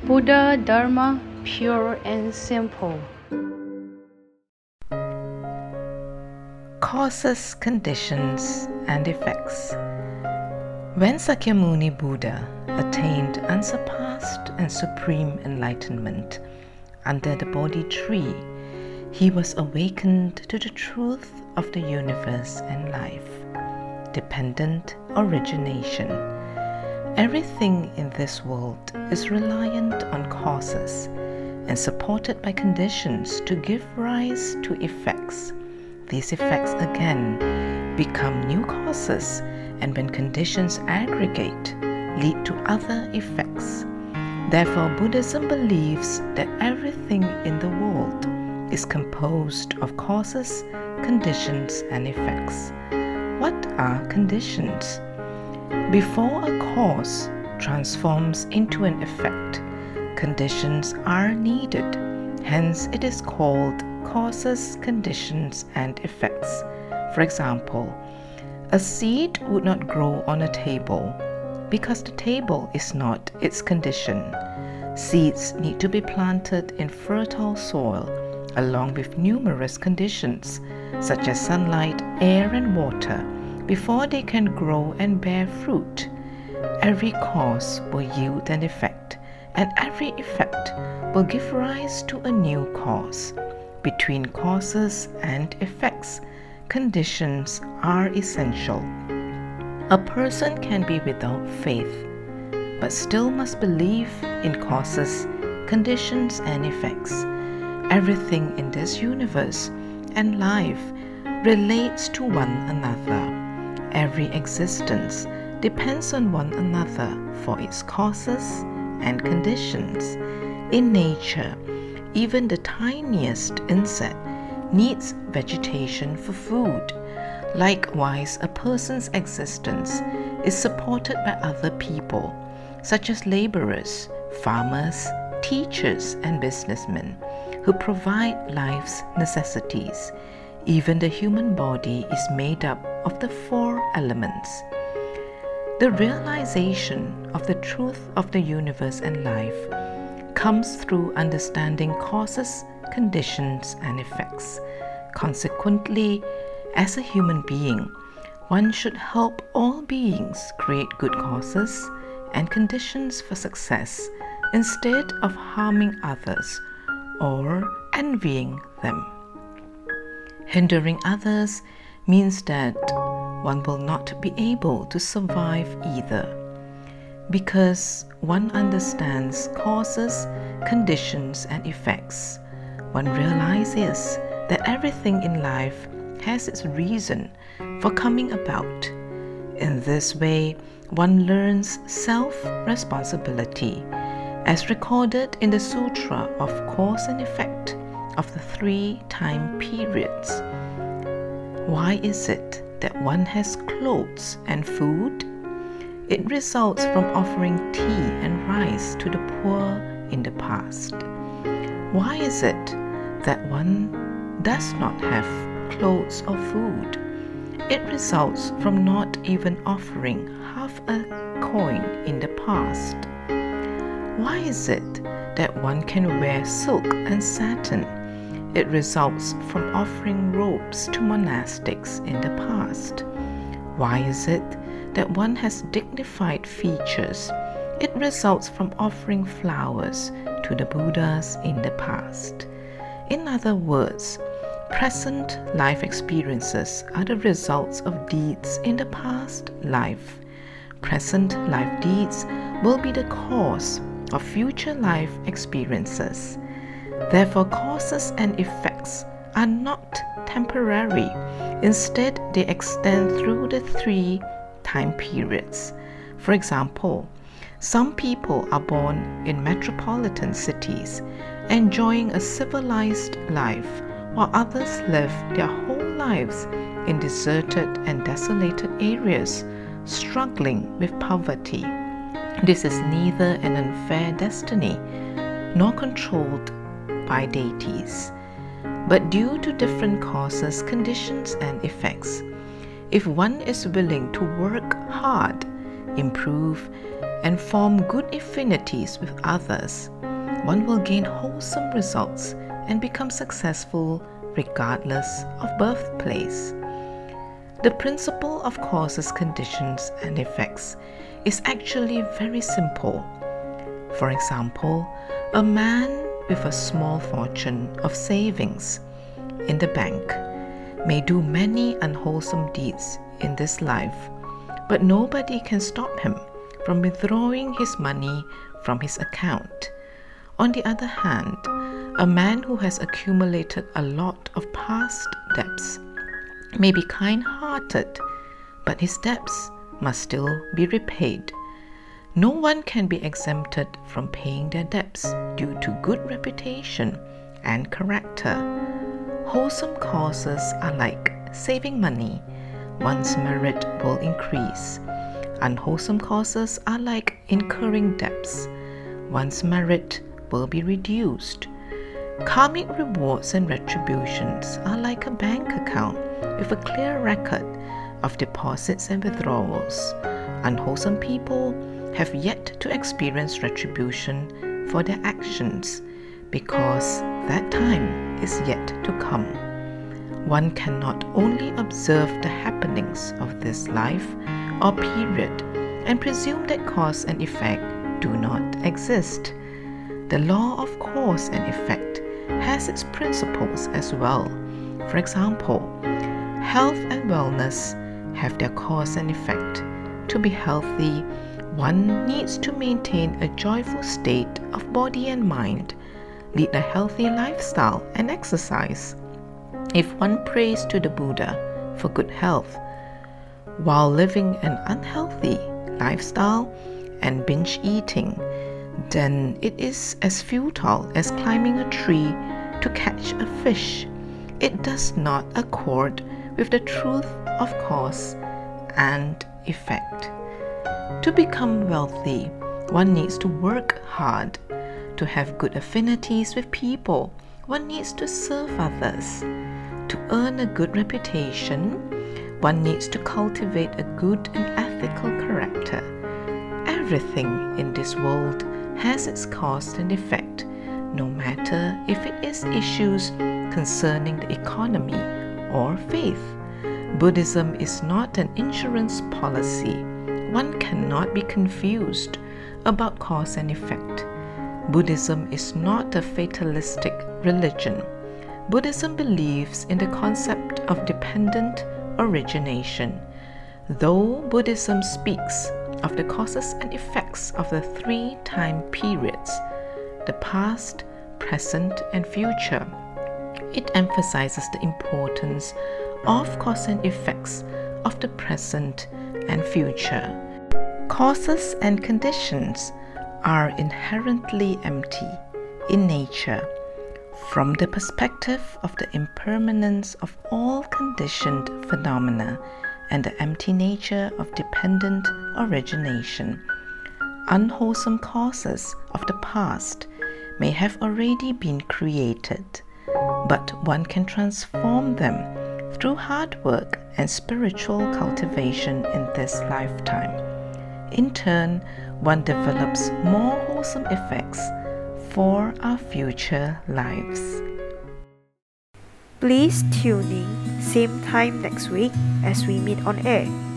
Buddha Dharma, pure and simple. Causes, conditions, and effects. When Sakyamuni Buddha attained unsurpassed and supreme enlightenment under the Bodhi tree, he was awakened to the truth of the universe and life, dependent origination. Everything in this world is reliant on causes and supported by conditions to give rise to effects. These effects again become new causes, and when conditions aggregate, lead to other effects. Therefore, Buddhism believes that everything in the world is composed of causes, conditions, and effects. What are conditions? Before a cause transforms into an effect, conditions are needed. Hence, it is called causes, conditions, and effects. For example, a seed would not grow on a table because the table is not its condition. Seeds need to be planted in fertile soil along with numerous conditions such as sunlight, air, and water before they can grow and bear fruit. Every cause will yield an effect, and every effect will give rise to a new cause. Between causes and effects, conditions are essential. A person can be without faith, but still must believe in causes, conditions, and effects. Everything in this universe and life relates to one another. Every existence depends on one another for its causes and conditions. In nature, even the tiniest insect needs vegetation for food. Likewise, a person's existence is supported by other people, such as laborers, farmers, teachers, and businessmen, who provide life's necessities. Even the human body is made up of the 4 elements. The realization of the truth of the universe and life comes through understanding causes, conditions, and effects. Consequently, as a human being, one should help all beings create good causes and conditions for success instead of harming others or envying them. Hindering others means that one will not be able to survive either. Because one understands causes, conditions, and effects, one realizes that everything in life has its reason for coming about. In this way, one learns self-responsibility, as recorded in the Sutra of Cause and Effect of the 3 time periods. Why is it that one has clothes and food? It results from offering tea and rice to the poor in the past. Why is it that one does not have clothes or food? It results from not even offering half a coin in the past. Why is it that one can wear silk and satin? It results from offering robes to monastics in the past. Why is it that one has dignified features? It results from offering flowers to the Buddhas in the past. In other words, present life experiences are the results of deeds in the past life. Present life deeds will be the cause of future life experiences. Therefore, causes and effects are not temporary. Instead, they extend through the 3 time periods. For example, some people are born in metropolitan cities, enjoying a civilized life, while others live their whole lives in deserted and desolated areas, struggling with poverty. This is neither an unfair destiny nor controlled by deities, but due to different causes, conditions, and effects. If one is willing to work hard, improve, and form good affinities with others, one will gain wholesome results and become successful regardless of birthplace. The principle of causes, conditions, and effects is actually very simple. For example, a man with a small fortune of savings in the bank may do many unwholesome deeds in this life, but nobody can stop him from withdrawing his money from his account. On the other hand, a man who has accumulated a lot of past debts may be kind-hearted, but his debts must still be repaid. No one can be exempted from paying their debts due to good reputation and character. Wholesome causes are like saving money. One's merit will increase. Unwholesome causes are like incurring debts. One's merit will be reduced. Karmic rewards and retributions are like a bank account with a clear record of deposits and withdrawals. Unwholesome people have yet to experience retribution for their actions because that time is yet to come. One cannot only observe the happenings of this life or period and presume that cause and effect do not exist. The law of cause and effect has its principles as well. For example, health and wellness have their cause and effect. To be healthy, one needs to maintain a joyful state of body and mind, lead a healthy lifestyle and exercise. If one prays to the Buddha for good health while living an unhealthy lifestyle and binge eating, then it is as futile as climbing a tree to catch a fish. It does not accord with the truth of cause and effect. To become wealthy, one needs to work hard. To have good affinities with people, one needs to serve others. To earn a good reputation, one needs to cultivate a good and ethical character. Everything in this world has its cause and effect, no matter if it is issues concerning the economy or faith. Buddhism is not an insurance policy. One cannot be confused about cause and effect. Buddhism is not a fatalistic religion. Buddhism believes in the concept of dependent origination. Though Buddhism speaks of the causes and effects of the three time periods, the past, present, and future, it emphasizes the importance of cause and effects of the present and future. Causes and conditions are inherently empty in nature. From the perspective of the impermanence of all conditioned phenomena and the empty nature of dependent origination, unwholesome causes of the past may have already been created, but one can transform them through hard work and spiritual cultivation in this lifetime. In turn, one develops more wholesome effects for our future lives. Please tune in same time next week as we meet on air.